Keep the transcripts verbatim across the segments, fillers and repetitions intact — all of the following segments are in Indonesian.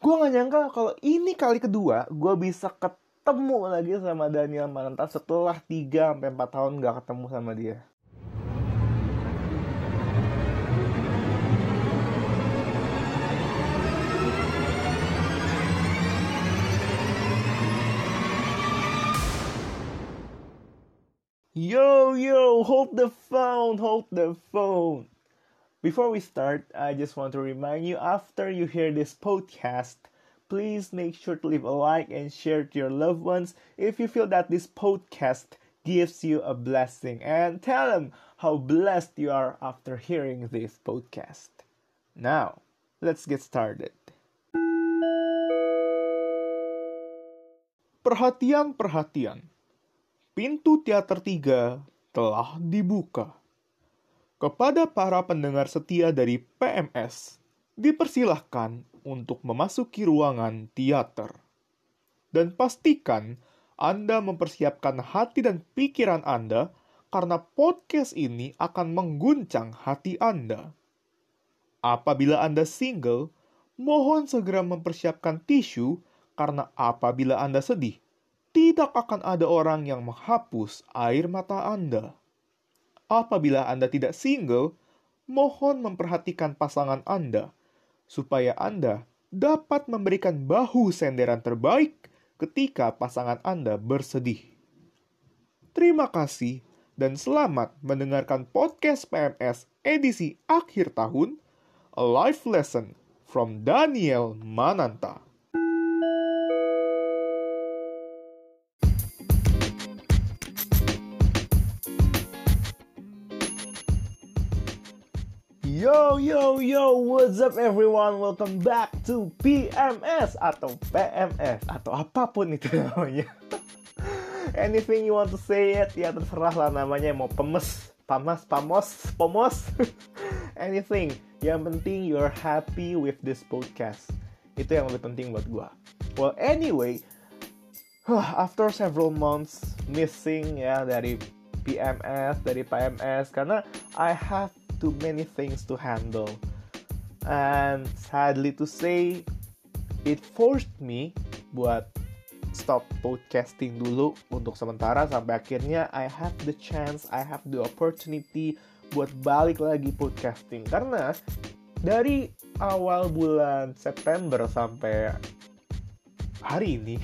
Gue gak nyangka kalau ini kali kedua gue bisa ketemu lagi sama Daniel Mananta setelah tiga sampai empat tahun gak ketemu sama dia. Yo, yo, hold the phone, hold the phone. Before we start, I just want to remind you, after you hear this podcast, please make sure to leave a like and share to your loved ones if you feel that this podcast gives you a blessing. And tell them how blessed you are after hearing this podcast. Now, let's get started. Perhatian, perhatian. Pintu teater tiga telah dibuka. Kepada para pendengar setia dari P M S, dipersilahkan untuk memasuki ruangan teater. Dan pastikan Anda mempersiapkan hati dan pikiran Anda karena podcast ini akan mengguncang hati Anda. Apabila Anda single, mohon segera mempersiapkan tisu karena apabila Anda sedih, tidak akan ada orang yang menghapus air mata Anda. Apabila Anda tidak single, mohon memperhatikan pasangan Anda, supaya Anda dapat memberikan bahu senderan terbaik ketika pasangan Anda bersedih. Terima kasih dan selamat mendengarkan podcast P M S edisi akhir tahun, A Life Lesson from Daniel Mananta. Yo, yo, yo, what's up everyone? Welcome back to P M S atau P M S atau apapun itu namanya. Anything you want to say it, ya terserah lah namanya. Mau pemes, pamas, pamos, pomos, anything. Yang penting you're happy with this podcast. Itu yang lebih penting buat gua. Well, anyway, after several months missing ya dari P M S, dari P M S, karena I have too many things to handle. And sadly to say, it forced me buat stop podcasting dulu untuk sementara sampai akhirnya I have the chance, I have the opportunity buat balik lagi podcasting. Karena dari awal bulan September sampai hari ini,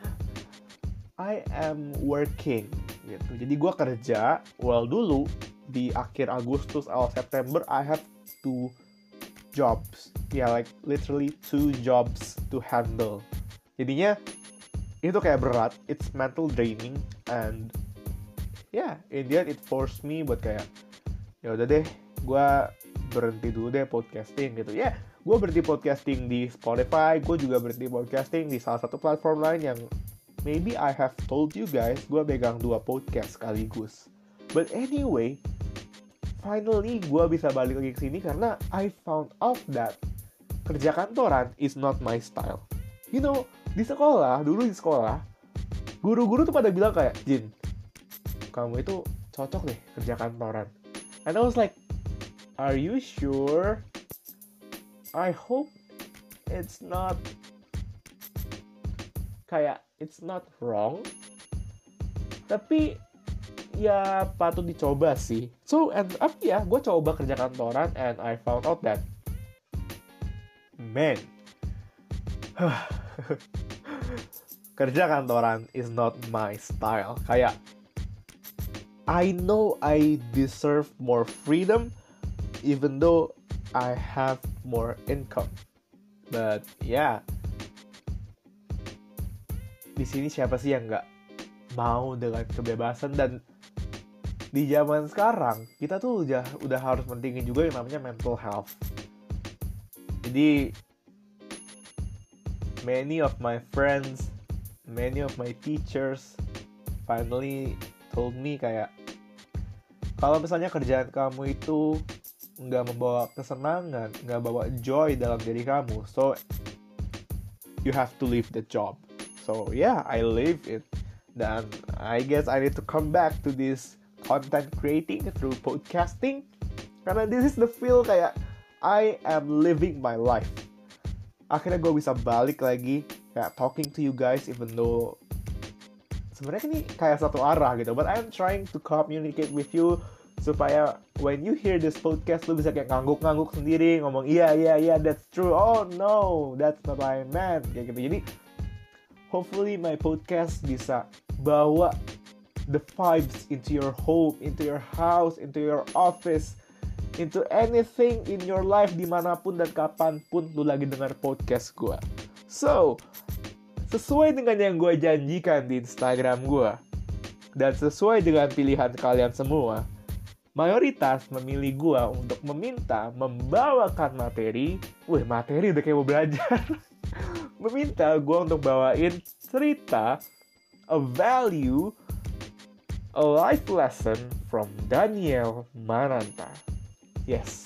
I am working gitu. Jadi gue kerja, well dulu di akhir Agustus, awal September, I have two jobs. Ya, yeah, like literally two jobs to handle. Jadinya, itu kayak berat. It's mental draining. And, yeah, in the end, it forced me buat kayak, ya udah deh, gue berhenti dulu deh podcasting gitu. Ya, yeah, gue berhenti podcasting di Spotify. Gue juga berhenti podcasting di salah satu platform lain yang maybe I have told you guys, gue pegang dua podcast sekaligus. But anyway, finally gue bisa balik lagi ke sini karena I found out that kerja kantoran is not my style. You know, di sekolah, dulu di sekolah, guru-guru tuh pada bilang kayak, Jin, kamu itu cocok deh kerja kantoran. And I was like, are you sure? I hope it's not kayak, it's not wrong. Tapi ya patut dicoba sih. So, and up ya, gue coba kerja kantoran and I found out that man, kerja kantoran is not my style. Kayak I know I deserve more freedom even though I have more income. But yeah, di sini siapa sih yang nggak mau dengan kebebasan? Dan di zaman sekarang kita tuh udah udah harus pentingin juga yang namanya mental health. Jadi many of my friends, many of my teachers finally told me kayak, kalau misalnya kerjaan kamu itu nggak membawa kesenangan, nggak bawa joy dalam diri kamu, so you have to leave the job. So yeah, I leave it. Dan I guess I need to come back to this content creating through podcasting. Karena this is the feel kayak I am living my life. akhirnya gue bisa balik lagi kayak talking to you guys, even though sebenarnya ini kayak satu arah gitu, but I'm trying to communicate with you supaya when you hear this podcast lu bisa kayak ngangguk-ngangguk sendiri, ngomong iya iya iya that's true, oh no that's not what I meant, kayak gitu. Jadi hopefully my podcast bisa bawa the vibes into your home, into your house, into your office, into anything in your life, dimanapun dan kapanpun lu lagi dengar podcast gue. So, sesuai dengan yang gue janjikan di Instagram gue, dan sesuai dengan pilihan kalian semua, mayoritas memilih gue untuk meminta membawakan materi. Wih, materi udah kayak mau belajar. Meminta gue untuk bawain cerita, a value, a life lesson from Daniel Mananta. Yes.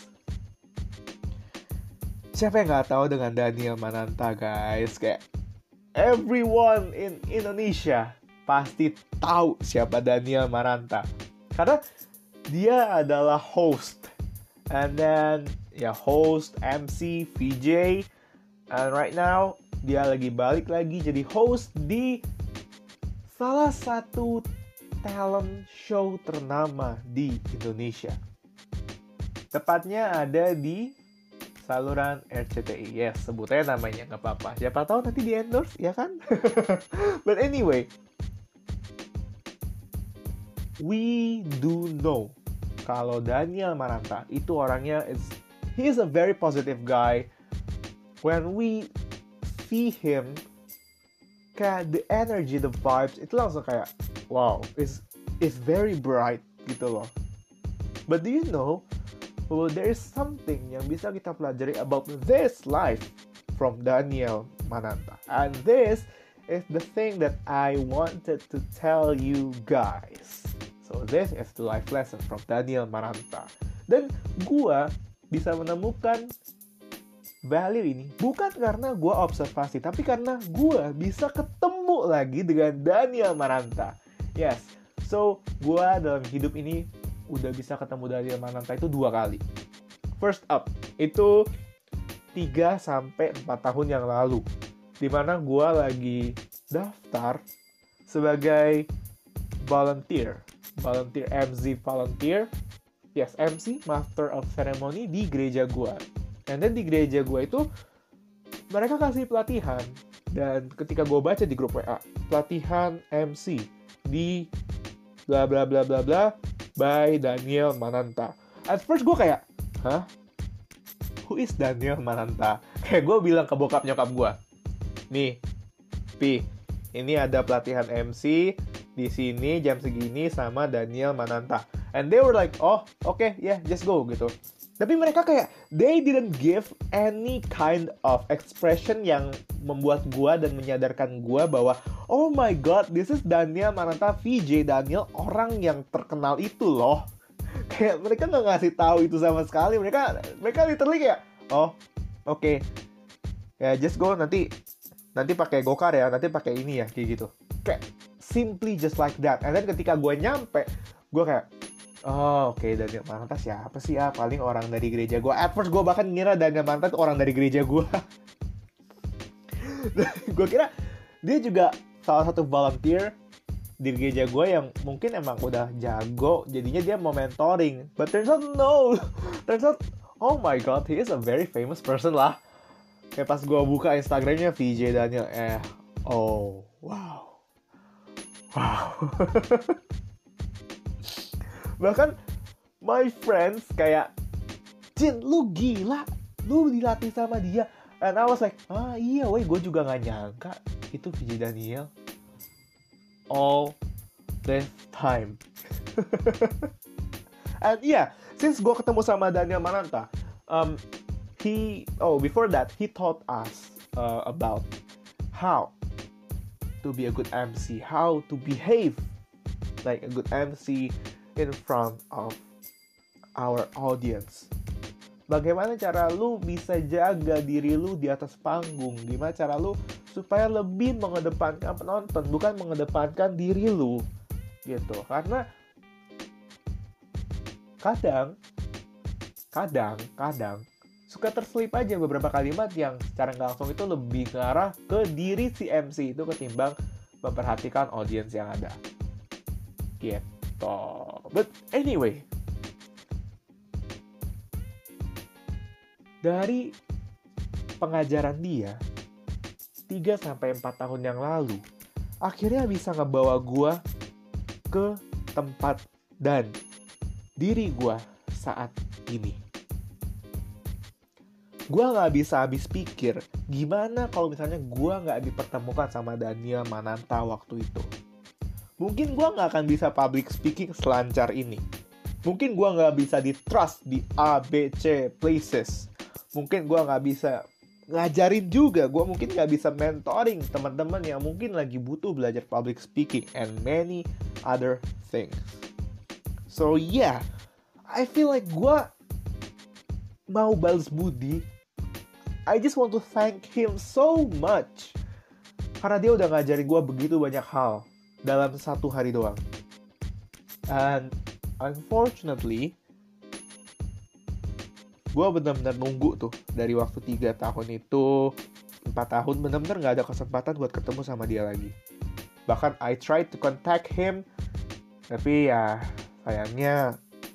Siapa yang gak tahu dengan Daniel Mananta, guys? Kayak everyone in Indonesia pasti tahu siapa Daniel Mananta. Karena dia adalah host. And then, ya host, M C, V J. And right now, dia lagi balik lagi jadi host di salah satu talent show ternama di Indonesia. Tepatnya ada di saluran R C T I. Yes, sebutnya namanya, nggak apa-apa. Siapa tahu nanti di endorse, ya kan? But anyway, we do know kalau Daniel Mananta itu orangnya is he is a very positive guy. When we see him, kayak the energy, the vibes, itu langsung kayak wow, is is very bright gitu loh. But do you know, well, there is something yang bisa kita pelajari about this life from Daniel Mananta. And this is the thing that I wanted to tell you guys. So this is the life lesson from Daniel Mananta. Dan gua bisa menemukan value ini bukan karena gue observasi, tapi karena gue bisa ketemu lagi dengan Daniel Mananta. Yes, so gue dalam hidup ini udah bisa ketemu Daniel Mananta itu dua kali. First up, itu tiga sampai empat tahun yang lalu, dimana gue lagi daftar sebagai volunteer, volunteer M Z volunteer, yes M C, Master of Ceremony di gereja gue. And then di gereja gue itu mereka kasih pelatihan. Dan ketika gue baca di grup W A, pelatihan M C di bla bla bla bla bla by Daniel Mananta. At first gue kayak, hah? Who is Daniel Mananta? Kayak gue bilang ke bokap nyokap gue, nih, Pi, ini ada pelatihan M C di sini jam segini sama Daniel Mananta. And they were like, oh, okay, yeah, just go gitu. Tapi mereka kayak, they didn't give any kind of expression yang membuat gua dan menyadarkan gua bahwa, oh my god, this is Daniel Mananta, V J Daniel, orang yang terkenal itu loh. Kayak mereka nggak ngasih tahu itu sama sekali. Mereka, mereka literally kayak, oh, oke, okay. Ya just go, nanti, nanti pakai gokar ya, nanti pakai ini ya, kayak gitu. Kayak simply just like that. And then ketika gua nyampe, gua kayak, oh oke, okay. Daniel Mananta siapa sih ya? Paling orang dari gereja gue. At first gue bahkan ngira Daniel Mananta itu orang dari gereja gue. Gue kira dia juga salah satu volunteer di gereja gue yang mungkin emang udah jago, jadinya dia mau mentoring. But turns out no. Turns out, oh my god, he is a very famous person lah. Kayak pas gue buka Instagramnya V J Daniel, eh, oh wow, wow. Bahkan my friends kayak, Jin, lu gila, lu dilatih sama dia. And I was like, ah iya weh, gue juga gak nyangka itu V J Daniel. All this time. And yeah, since gue ketemu sama Daniel Mananta, um, he, oh before that, he taught us uh, about how to be a good M C, how to behave like a good M C in front of our audience. Bagaimana cara lu bisa jaga diri lu di atas panggung? Gimana cara lu supaya lebih mengedepankan penonton, bukan mengedepankan diri lu, gitu. Karena kadang, kadang, kadang suka terselip aja beberapa kalimat yang secara nggak langsung itu lebih ngarah ke diri si M C itu ketimbang memperhatikan audiens yang ada. Gitu. But anyway, dari pengajaran dia tiga sampai empat tahun yang lalu, akhirnya bisa ngebawa gue ke tempat dan diri gue saat ini. Gue gak bisa habis pikir gimana kalau misalnya gue gak dipertemukan sama Daniel Mananta waktu itu. Mungkin gue gak akan bisa public speaking selancar ini. Mungkin gue gak bisa di-trust di A, B, C places. Mungkin gue gak bisa ngajarin juga. Gue mungkin gak bisa mentoring teman-teman yang mungkin lagi butuh belajar public speaking and many other things. So yeah, I feel like gue mau balas budi. I just want to thank him so much. Karena dia udah ngajarin gue begitu banyak hal dalam satu hari doang. And unfortunately, gue benar-benar nunggu tuh dari waktu tiga tahun itu, empat tahun benar-benar gak ada kesempatan buat ketemu sama dia lagi. Bahkan I tried to contact him, tapi ya sayangnya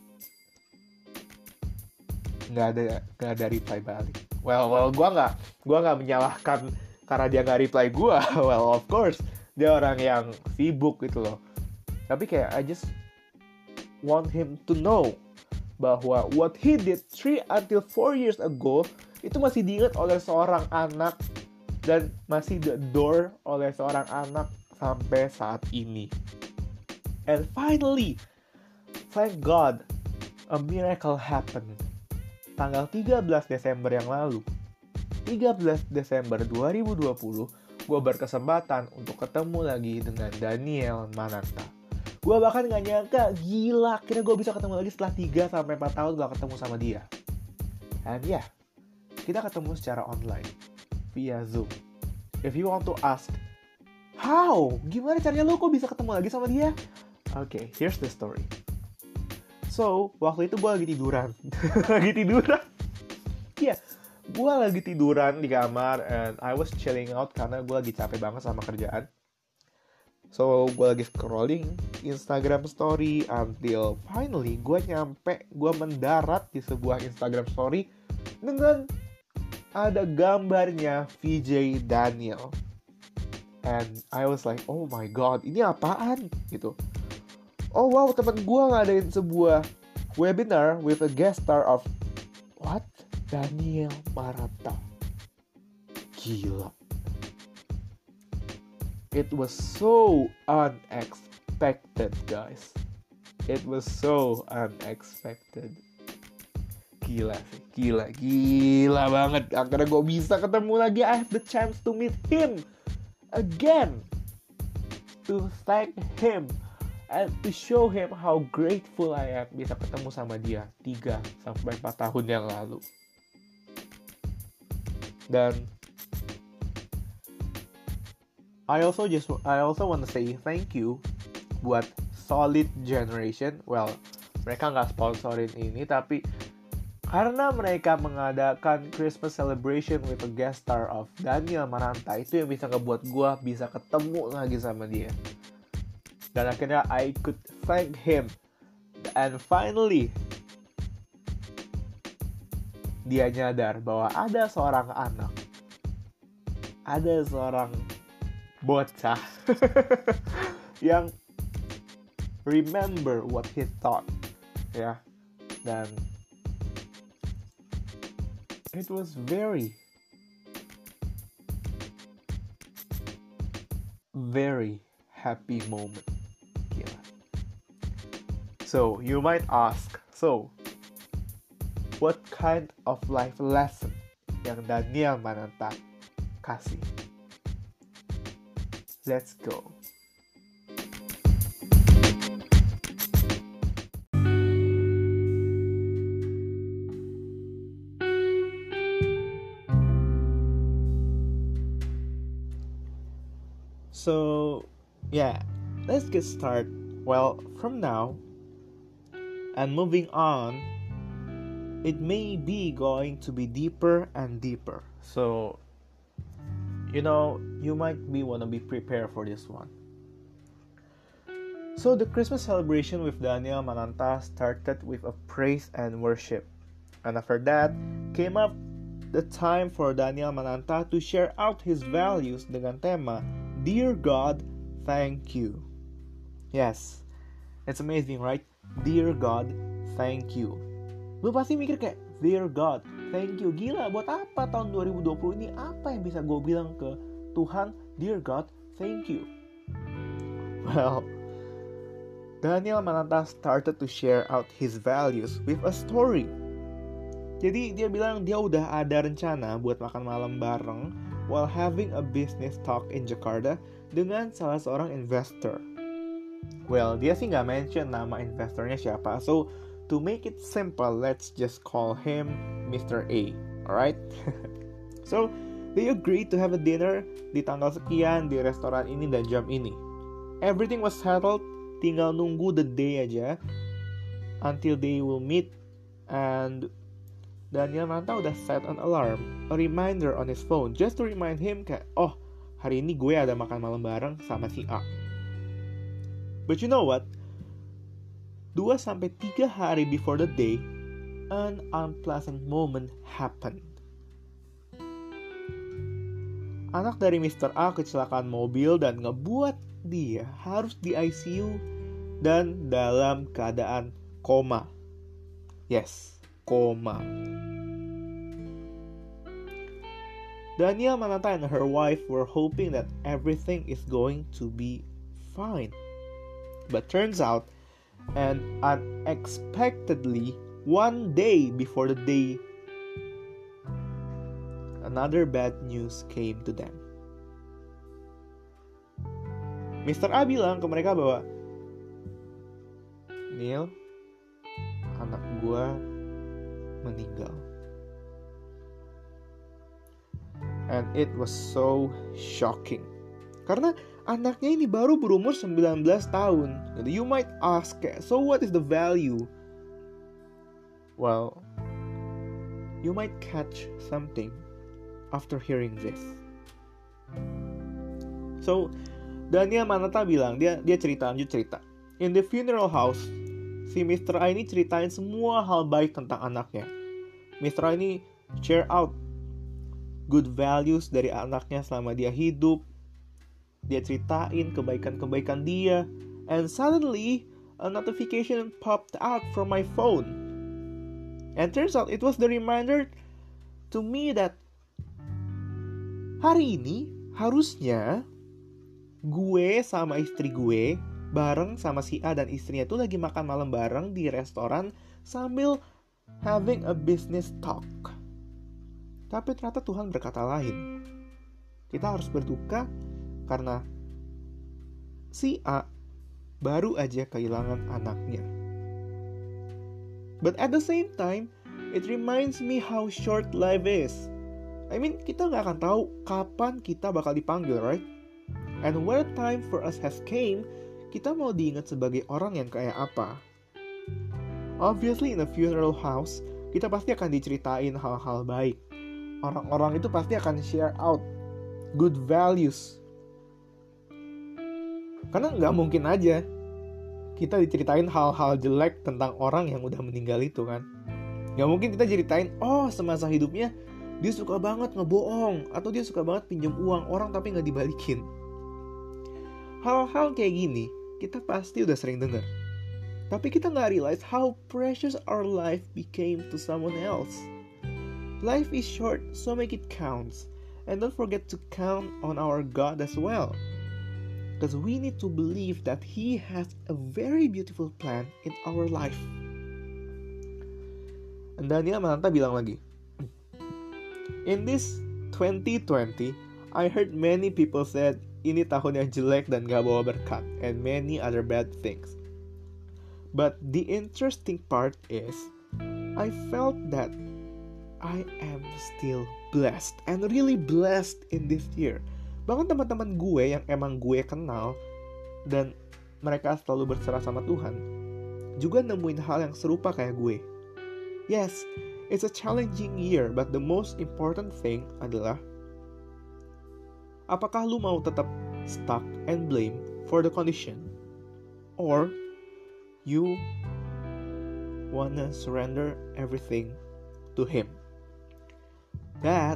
nggak ada nggak ada reply balik. Well, well, gue nggak gue nggak menyalahkan karena dia nggak reply gue. Well, of course dia orang yang sibuk gitu loh. Tapi kayak I just want him to know bahwa what he did three until four years ago itu masih diingat oleh seorang anak dan masih di-adore oleh seorang anak sampai saat ini. And finally, thank God, a miracle happened. Tanggal tiga belas Desember yang lalu, tiga belas Desember dua ribu dua puluh, gue berkesempatan untuk ketemu lagi dengan Daniel Mananta. Gue bahkan gak nyangka, gila, akhirnya gue bisa ketemu lagi setelah tiga sampai empat tahun gak ketemu sama dia. And yeah, kita ketemu secara online, via Zoom. If you want to ask, how? Gimana caranya lo kok bisa ketemu lagi sama dia? Oke, okay, here's the story. So, waktu itu gue lagi tiduran. lagi tiduran. Iya, yeah, gue lagi tiduran di kamar and I was chilling out karena gue lagi capek banget sama kerjaan. So, gue lagi scrolling Instagram story until finally gue nyampe, gue mendarat di sebuah Instagram story dengan ada gambarnya V J Daniel. And I was like, oh my god, ini apaan? Gitu. Oh wow, teman gue ngadain sebuah webinar with a guest star of what? Daniel Mananta. Gila. It was so unexpected, guys. It was so unexpected. Gila sih, gila, gila banget. Akhirnya gue bisa ketemu lagi. I have the chance to meet him again. To thank him. And to show him how grateful I am bisa ketemu sama dia tiga sampai empat tahun yang lalu. Dan I also just I also want to say thank you buat Solid Generation. Well, mereka nggak sponsorin ini, tapi karena mereka mengadakan Christmas celebration with a guest star of Daniel Mananta, itu yang bisa ngebuat gue bisa ketemu lagi sama dia. Dan akhirnya I could thank him. And finally, dia nyadar bahwa ada seorang anak, ada seorang bocah yang remember what he thought, ya. Dan it was very, very happy moment. So, you might ask, so, what kind of life lesson yang Daniel Mananta kasih? Let's go. So, yeah, let's get started. Well, from now, and moving on, it may be going to be deeper and deeper. So, you know, you might be want to be prepared for this one. So the Christmas celebration with Daniel Mananta started with a praise and worship. And after that, came up the time for Daniel Mananta to share out his values dengan tema, Dear God, Thank You. Yes, it's amazing, right? Dear God, Thank You. Lu pasti mikir kayak, Dear God, Thank You. Gila, buat apa tahun dua ribu dua puluh ini? Apa yang bisa gue bilang ke Tuhan, Dear God, Thank You? Well, Daniel Mananta started to share out his values with a story. Jadi dia bilang dia udah ada rencana buat makan malam bareng while having a business talk in Jakarta dengan salah seorang investor. Well, dia sih nggak mention nama investornya siapa, so to make it simple, let's just call him Mister A, alright? So, they agreed to have a dinner di tanggal sekian di restoran ini dan jam ini. Everything was settled, tinggal nunggu the day aja until they will meet, and Daniel Mananta udah set an alarm, a reminder on his phone, just to remind him kayak, oh, hari ini gue ada makan malam bareng sama si A. But you know what? Dua sampai tiga hari before the day, an unpleasant moment happened. Anak dari Mister A kecelakaan mobil dan ngebuat dia harus di I C U dan dalam keadaan koma. Yes, koma. Daniel Mananta and her wife were hoping that everything is going to be fine. But turns out, and unexpectedly, one day before the day, another bad news came to them. Mister A bilang ke mereka bahwa, Neil, anak gua meninggal. And it was so shocking. Karena anaknya ini baru berumur sembilan belas tahun. You might ask, so what is the value? Well, you might catch something after hearing this. So, Daniel Mananta bilang, dia dia cerita, lanjut cerita. In the funeral house, si Mister A ini ceritain semua hal baik tentang anaknya. Mister A ini share out good values dari anaknya selama dia hidup. Dia ceritain kebaikan-kebaikan dia. And suddenly, a notification popped out from my phone. And turns out it was the reminder to me that hari ini harusnya gue sama istri gue bareng sama si A dan istrinya tuh lagi makan malam bareng di restoran sambil having a business talk. Tapi ternyata Tuhan berkata lain. Kita harus berduka karena si A baru aja kehilangan anaknya. But at the same time, it reminds me how short life is. I mean, kita gak akan tahu kapan kita bakal dipanggil, right? And when time for us has came, kita mau diingat sebagai orang yang kayak apa? Obviously in a funeral house, kita pasti akan diceritain hal-hal baik. Orang-orang itu pasti akan share out good values. Karena nggak mungkin aja kita diceritain hal-hal jelek tentang orang yang udah meninggal itu kan. Nggak mungkin kita ceritain, oh semasa hidupnya dia suka banget ngebohong, atau dia suka banget pinjam uang orang tapi nggak dibalikin. Hal-hal kayak gini kita pasti udah sering dengar. Tapi kita nggak realize how precious our life became to someone else. Life is short, so make it count. And don't forget to count on our God as well. Because we need to believe that He has a very beautiful plan in our life. And Daniel Mananta bilang lagi, in this twenty twenty, I heard many people said, ini tahun yang jelek dan gak bawa berkat, and many other bad things. But the interesting part is, I felt that I am still blessed, and really blessed in this year. Bahkan teman-teman gue yang emang gue kenal, dan mereka selalu berserah sama Tuhan, juga nemuin hal yang serupa kayak gue. Yes, It's a challenging year, but the most important thing adalah apakah lu mau tetap stuck and blame for the condition, or you wanna surrender everything to Him. That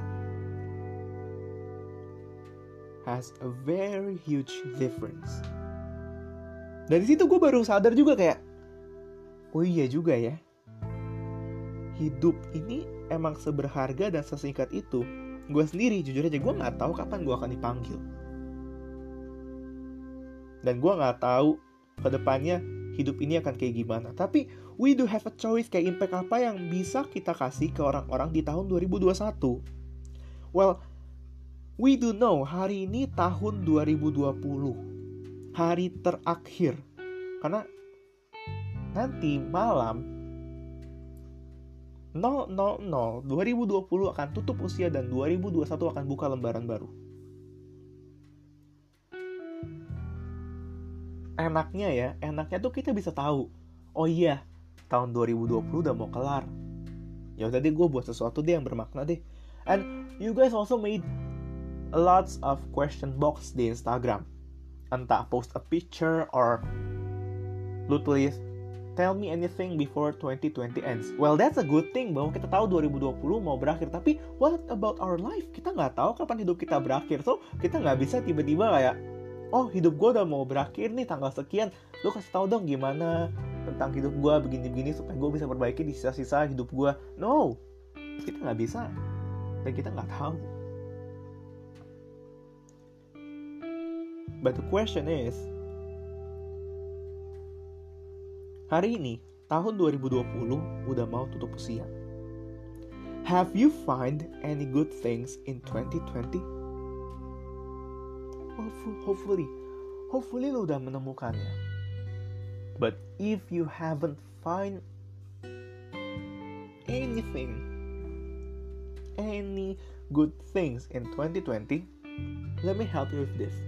has a very huge difference. Dan di situ gue baru sadar juga kayak, oh iya juga ya, hidup ini emang seberharga dan sesingkat itu. Gue sendiri jujur aja gue nggak tahu kapan gue akan dipanggil, dan gue nggak tahu kedepannya hidup ini akan kayak gimana. Tapi we do have a choice, kayak impact apa yang bisa kita kasih ke orang-orang di tahun dua ribu dua puluh satu. Well, we do know hari ini tahun dua ribu dua puluh, hari terakhir. Karena nanti malam nol nol nol dua ribu dua puluh akan tutup usia dan dua ribu dua puluh satu akan buka lembaran baru. Enaknya ya, enaknya tuh kita bisa tahu, oh iya, tahun dua ribu dua puluh udah mau kelar. Ya udah deh, gue buat sesuatu deh yang bermakna deh. And you guys also made lots of question box di Instagram. Entah post a picture or lu tulis tell me anything before twenty twenty ends. Well, that's a good thing bahwa kita tahu dua ribu dua puluh mau berakhir. Tapi what about our life? Kita nggak tahu kapan hidup kita berakhir. So kita nggak bisa tiba-tiba kayak, oh hidup gue udah mau berakhir nih tanggal sekian, lu kasih tahu dong gimana tentang hidup gue begini-begini supaya gue bisa perbaiki di sisa-sisa hidup gue. No, kita nggak bisa dan kita nggak tahu. But the question is, hari ini tahun dua ribu dua puluh udah mau tutup usia. Have you find any good things in twenty twenty? Hopefully, hopefully lo udah menemukannya. But if you haven't find anything, any good things in twenty twenty, let me help you with this.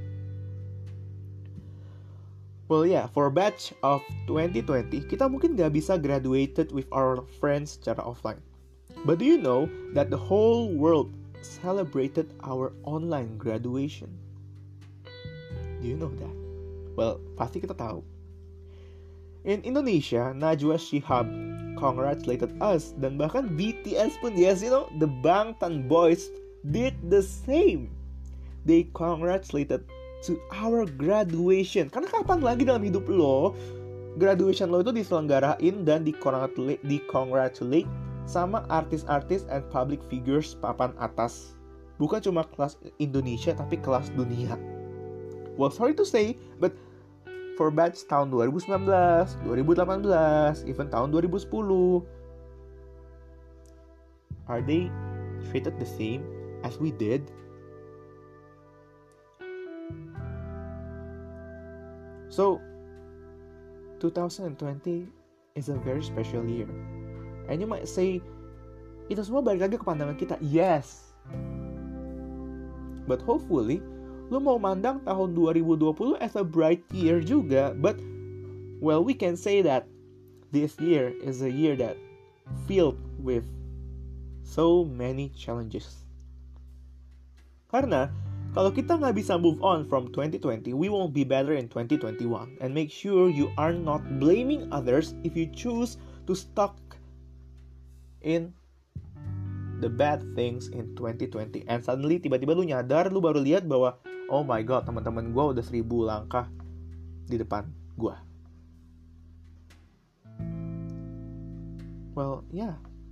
Well yeah, for batch of twenty twenty, kita mungkin gak bisa graduated with our friends secara offline. But do you know that the whole world celebrated our online graduation? Do you know that? Well, pasti kita tahu. In Indonesia, Najwa Shihab congratulated us, dan bahkan B T S pun, yes, you know, the Bangtan Boys did the same. They congratulated to our graduation. Karena kapan lagi dalam hidup lo graduation lo itu diselenggarain dan di-congratulate, di-congratulate sama artis-artis and public figures papan atas. Bukan cuma kelas Indonesia tapi kelas dunia. Well, sorry to say, but for batch tahun dua ribu sembilan belas, dua ribu delapan belas, even tahun dua ribu sepuluh, are they treated the same as we did? So, twenty twenty is a very special year. And you might say, itu semua balik lagi ke pandangan kita. Yes. But hopefully, lu mau mandang tahun dua ribu dua puluh as a bright year juga. But, well, we can say that this year is a year that filled with so many challenges. Karena, kalau kita nggak bisa move on from twenty twenty, we won't be better in twenty twenty-one. And make sure you are not blaming others if you choose to stuck in the bad things in twenty twenty. And suddenly, tiba-tiba lu nyadar, lu baru lihat bahwa, oh my god, teman-teman gue udah seribu langkah di depan gue. Well, yeah.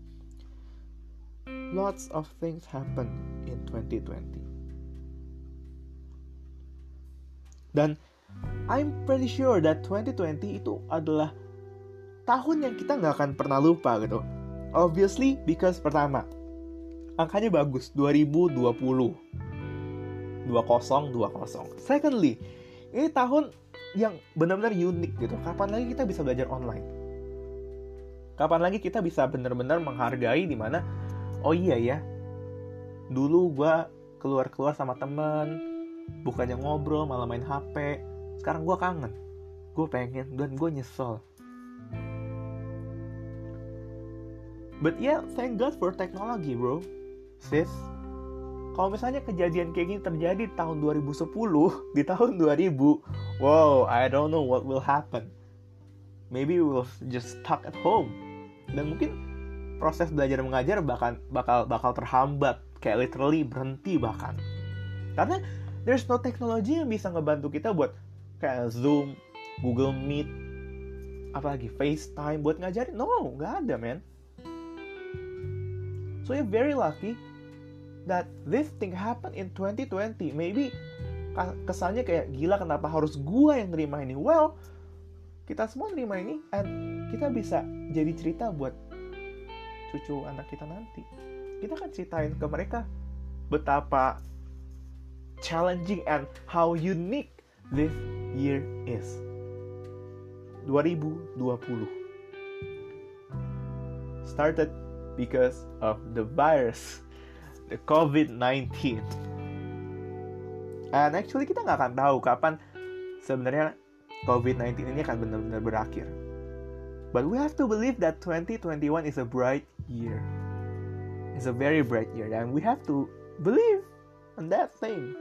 Lots of things happen in twenty twenty. Dan I'm pretty sure that twenty twenty itu adalah tahun yang kita gak akan pernah lupa gitu. Obviously, because pertama, angkanya bagus, dua ribu dua puluh. dua nol dua nol. Secondly, ini tahun yang benar-benar unik gitu. Kapan lagi kita bisa belajar online? Kapan lagi kita bisa benar-benar menghargai di mana, oh iya ya, dulu gue keluar-keluar sama temen, bukannya ngobrol malah main H P. Sekarang gue kangen, gue pengen, dan gue nyesel. But yeah, thank God for technology, bro. Sis, kalau misalnya kejadian kayak gini terjadi di tahun dua ribu sepuluh, di tahun dua ribu, wow, I don't know what will happen. Maybe we will just stuck at home. Dan mungkin proses belajar mengajar bakal bakal bakal terhambat, kayak literally berhenti bahkan. Karena there's no technology yang bisa ngebantu kita buat kayak Zoom, Google Meet, apalagi FaceTime buat ngajarin. No, nggak ada, man. So you're very lucky that this thing happened in twenty twenty. Maybe kesannya kayak gila, kenapa harus gua yang nerima ini? Well, kita semua nerima ini, and kita bisa jadi cerita buat cucu anak kita nanti. Kita kan ceritain ke mereka betapa challenging and how unique this year is. dua ribu dua puluh started because of the virus, the covid nineteen. And actually kita nggak akan tahu kapan sebenarnya covid nineteen ini akan benar-benar berakhir. But we have to believe that twenty twenty-one is a bright year. It's a very bright year, and we have to believe in that thing.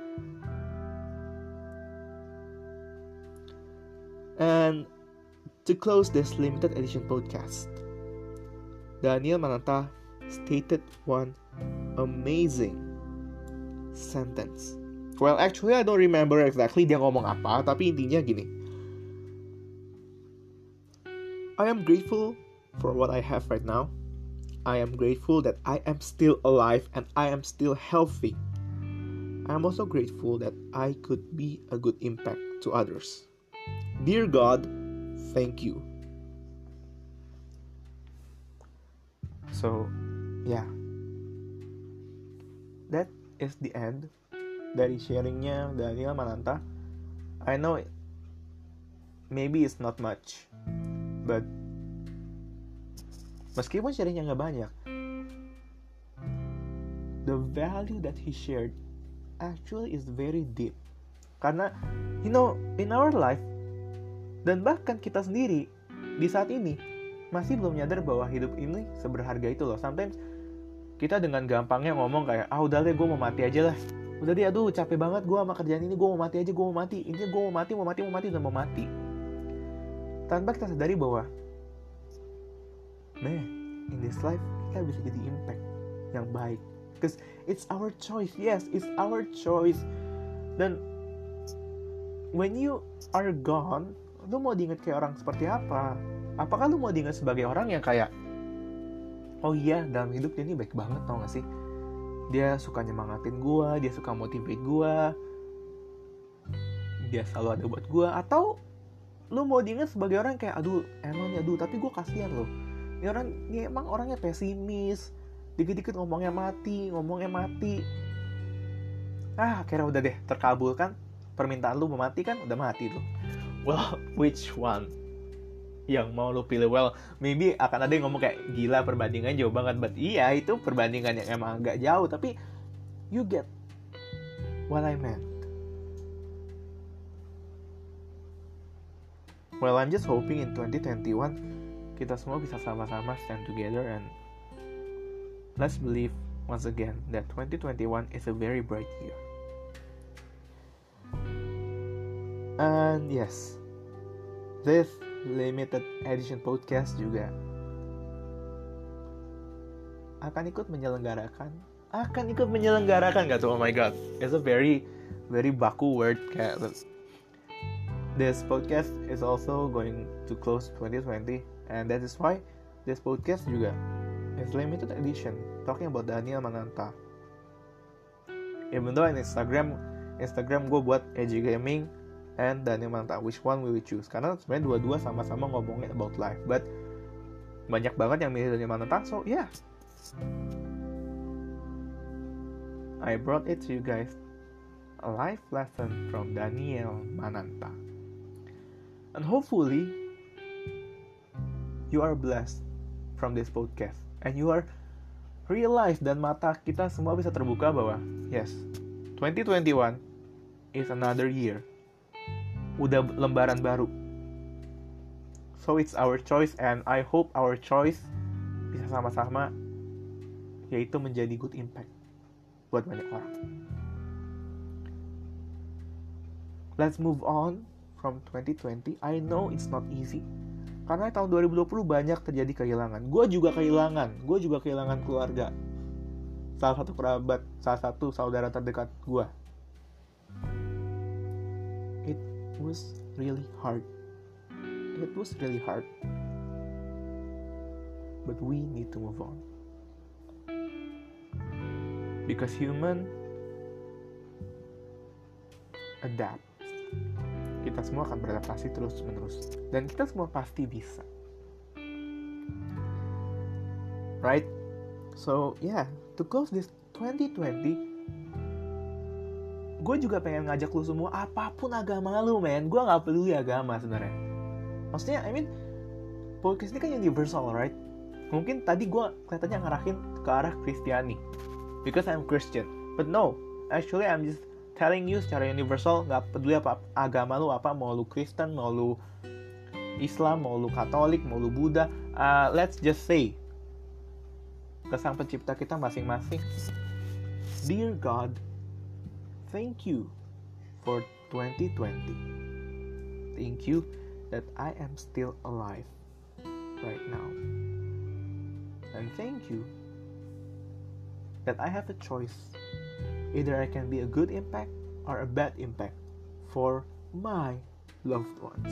And to close this limited edition podcast, Daniel Mananta stated one amazing sentence. Well, actually I don't remember exactly dia ngomong apa, tapi intinya gini. I am grateful for what I have right now. I am grateful that I am still alive and I am still healthy. I am also grateful that I could be a good impact to others. Dear God, thank you. So, yeah. That is the end dari sharingnya Daniel Mananta. I know it, maybe it's not much, but meskipun sharingnya gak banyak, the value that he shared actually is very deep. Karena, you know, in our life, dan bahkan kita sendiri di saat ini masih belum nyadar bahwa hidup ini seberharga itu loh. Sometimes kita dengan gampangnya ngomong kayak, ah udah deh gue mau mati aja lah. Udah deh, aduh capek banget gue sama kerjaan ini, gue mau mati aja, gue mau mati. Intinya gue mau mati, mau mati, mau mati, dan mau mati. Tanpa kita sadari bahwa, man, in this life kita bisa jadi impact yang baik. Because it's our choice, yes, it's our choice. Dan when you are gone, lu mau diingat kayak orang seperti apa? Apakah lu mau diingat sebagai orang yang kayak, oh iya, dalam hidup dia ini baik banget, tau gak sih? Dia suka nyemangatin gue, dia suka motivate gue, dia selalu ada buat gue. Atau lu mau diingat sebagai orang kayak, aduh emang nih, aduh tapi gue kasihan loh, ini orang, ini emang orangnya pesimis, dikit-dikit ngomongnya mati, ngomongnya mati. Ah, akhirnya udah deh, terkabulkan permintaan lu mau mati kan, udah mati tuh. Well, which one yang mau lu pilih? Well, maybe akan ada yang ngomong kayak, gila perbandingan jauh banget. But iya, itu perbandingan yang emang agak jauh, tapi you get what I meant. Well, I'm just hoping in twenty twenty-one kita semua bisa sama-sama stand together, and let's believe once again that twenty twenty-one is a very bright year. And yes, this limited edition podcast juga akan ikut menyelenggarakan akan ikut menyelenggarakan gak tuh? Oh my god, it's a very very baku word kayak. This podcast is also going to close twenty twenty, and that is why this podcast juga is limited edition, talking about Daniel Mananta. Even though in Instagram Instagram gue buat Edgy Gaming and Daniel Mananta, which one will we choose? Karena sebenarnya dua-dua sama-sama ngomongin about life, but banyak banget yang milih Daniel Mananta, so yeah, I brought it to you guys, a life lesson from Daniel Mananta. And hopefully you are blessed from this podcast, and you are realize, dan mata kita semua bisa terbuka bahwa yes, twenty twenty-one is another year. Udah lembaran baru. So it's our choice, and I hope our choice bisa sama-sama, yaitu menjadi good impact buat banyak orang. Let's move on from twenty twenty. I know it's not easy. Karena tahun dua ribu dua puluh banyak terjadi kehilangan. Gue juga kehilangan. Gue juga kehilangan keluarga. Salah satu kerabat, salah satu saudara terdekat gue. It was really hard. It was really hard. But we need to move on. Because human adapt. Kita semua akan beradaptasi terus-menerus. Dan kita semua pasti bisa. Right? So, yeah. To close this twenty twenty, gue juga pengen ngajak lu semua, apapun agama lu, men. Gue gak peduli agama sebenarnya. Maksudnya, I mean, podcast ini kan universal, right? Mungkin tadi gue kelihatannya ngarahin ke arah Kristiani. Because I'm Christian. But no, actually I'm just telling you secara universal, gak peduli apa agama lu apa, mau lu Kristen, mau lu Islam, mau lu Katolik, mau lu Buddha, uh, let's just say ke Sang Pencipta kita masing-masing, Dear God, thank you for twenty twenty. Thank you that I am still alive right now. And thank you that I have a choice. Either I can be a good impact or a bad impact for my loved ones.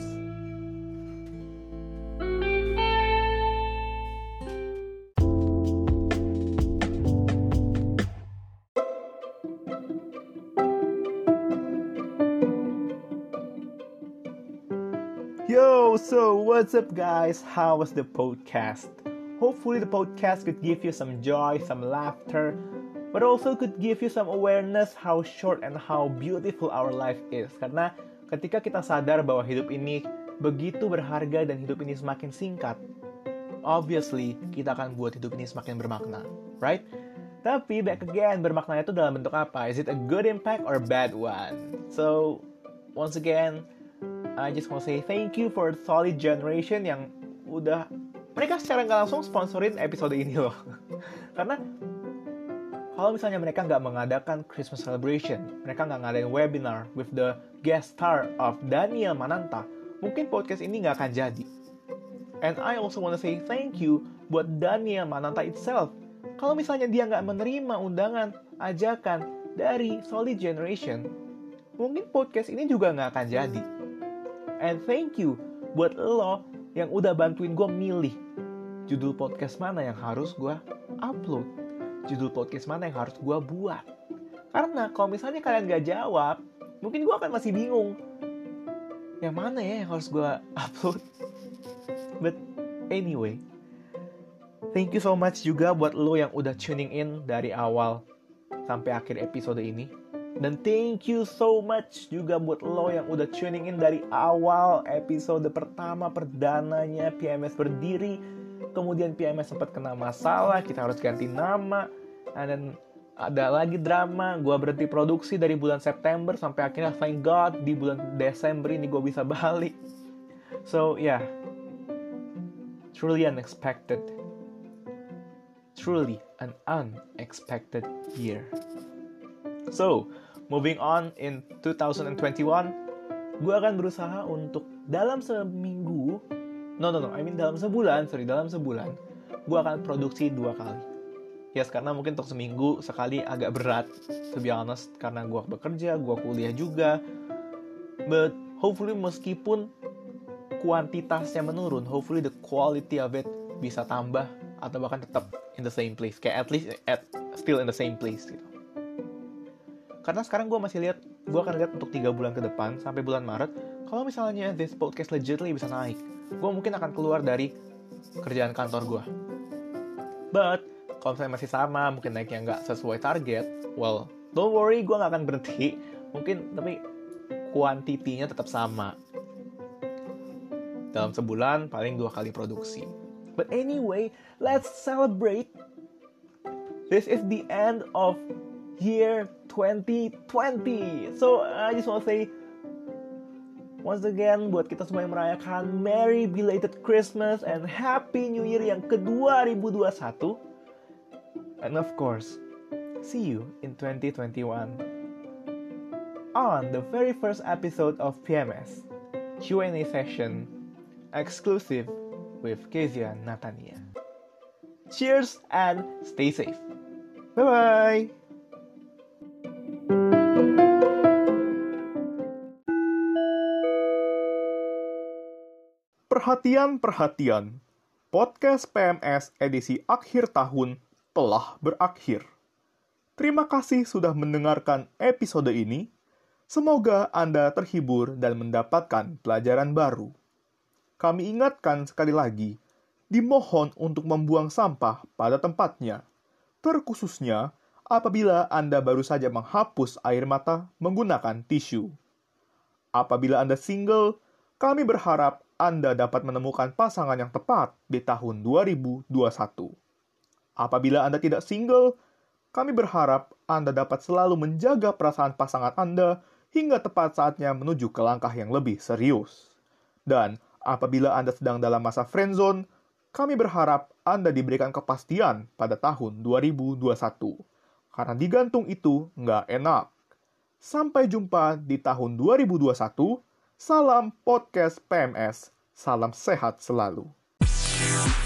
Yo, so what's up guys? How was the podcast? Hopefully the podcast could give you some joy, some laughter, but also could give you some awareness how short and how beautiful our life is. Karena ketika kita sadar bahwa hidup ini begitu berharga dan hidup ini semakin singkat, obviously kita akan buat hidup ini semakin bermakna, right? Tapi back again, bermaknanya itu dalam bentuk apa? Is it a good impact or a bad one? So, once again, I just want to say thank you for Solid Generation yang udah, mereka secara nggak langsung sponsorin episode ini loh. Karena kalau misalnya mereka nggak mengadakan Christmas celebration, mereka nggak ngadain webinar with the guest star of Daniel Mananta, mungkin podcast ini nggak akan jadi. And I also want to say thank you buat Daniel Mananta itself. Kalau misalnya dia nggak menerima undangan, ajakan dari Solid Generation, mungkin podcast ini juga nggak akan jadi. And thank you buat lo yang udah bantuin gue milih judul podcast mana yang harus gue upload, judul podcast mana yang harus gue buat. Karena kalau misalnya kalian gak jawab, mungkin gue akan masih bingung yang mana ya yang harus gue upload. But anyway, thank you so much juga buat lo yang udah tuning in dari awal sampai akhir episode ini. Dan thank you so much juga buat lo yang udah tuning in dari awal episode pertama perdananya P M S berdiri. Kemudian P M S sempat kena masalah, kita harus ganti nama. And then ada lagi drama, gue berhenti produksi dari bulan September sampai akhirnya thank God di bulan Desember ini gue bisa balik. So yeah, truly unexpected. Truly an unexpected year. So, moving on in twenty twenty-one, gue akan berusaha untuk dalam seminggu, no no no, I mean dalam sebulan, sorry dalam sebulan, gue akan produksi dua kali. Yes, karena mungkin untuk seminggu sekali agak berat, to be honest, karena gue bekerja, gue kuliah juga. But hopefully meskipun kuantitasnya menurun, hopefully the quality of it bisa tambah atau bahkan tetap in the same place, kayak at least at still in the same place gitu. Karena sekarang gue masih lihat, gue akan lihat untuk tiga bulan ke depan, sampai bulan Maret, kalau misalnya this podcast legitimately bisa naik, gue mungkin akan keluar dari kerjaan kantor gue. But, kalau misalnya masih sama, mungkin naiknya nggak sesuai target, well, don't worry, gue nggak akan berhenti. Mungkin, tapi kuantitinya tetap sama. Dalam sebulan, paling dua kali produksi. But anyway, let's celebrate. This is the end of year twenty twenty. So I just want to say Once again, buat kita semua yang merayakan Merry Belated Christmas and Happy New Year yang ke dua ribu dua puluh satu. And of course, see you in twenty twenty-one. On the very first episode of P M S, Q and A session, exclusive with Kezia Natania. Cheers and stay safe. Bye-bye! Perhatian-perhatian, podcast P M S edisi akhir tahun telah berakhir. Terima kasih sudah mendengarkan episode ini. Semoga Anda terhibur dan mendapatkan pelajaran baru. Kami ingatkan sekali lagi, dimohon untuk membuang sampah pada tempatnya, terkhususnya apabila Anda baru saja menghapus air mata menggunakan tisu. Apabila Anda single, kami berharap Anda dapat menemukan pasangan yang tepat di tahun dua ribu dua puluh satu. Apabila Anda tidak single, kami berharap Anda dapat selalu menjaga perasaan pasangan Anda hingga tepat saatnya menuju ke langkah yang lebih serius. Dan apabila Anda sedang dalam masa friendzone, kami berharap Anda diberikan kepastian pada tahun dua ribu dua puluh satu. Karena digantung itu nggak enak. Sampai jumpa di tahun dua ribu dua puluh satu. Salam podcast P M S, salam sehat selalu.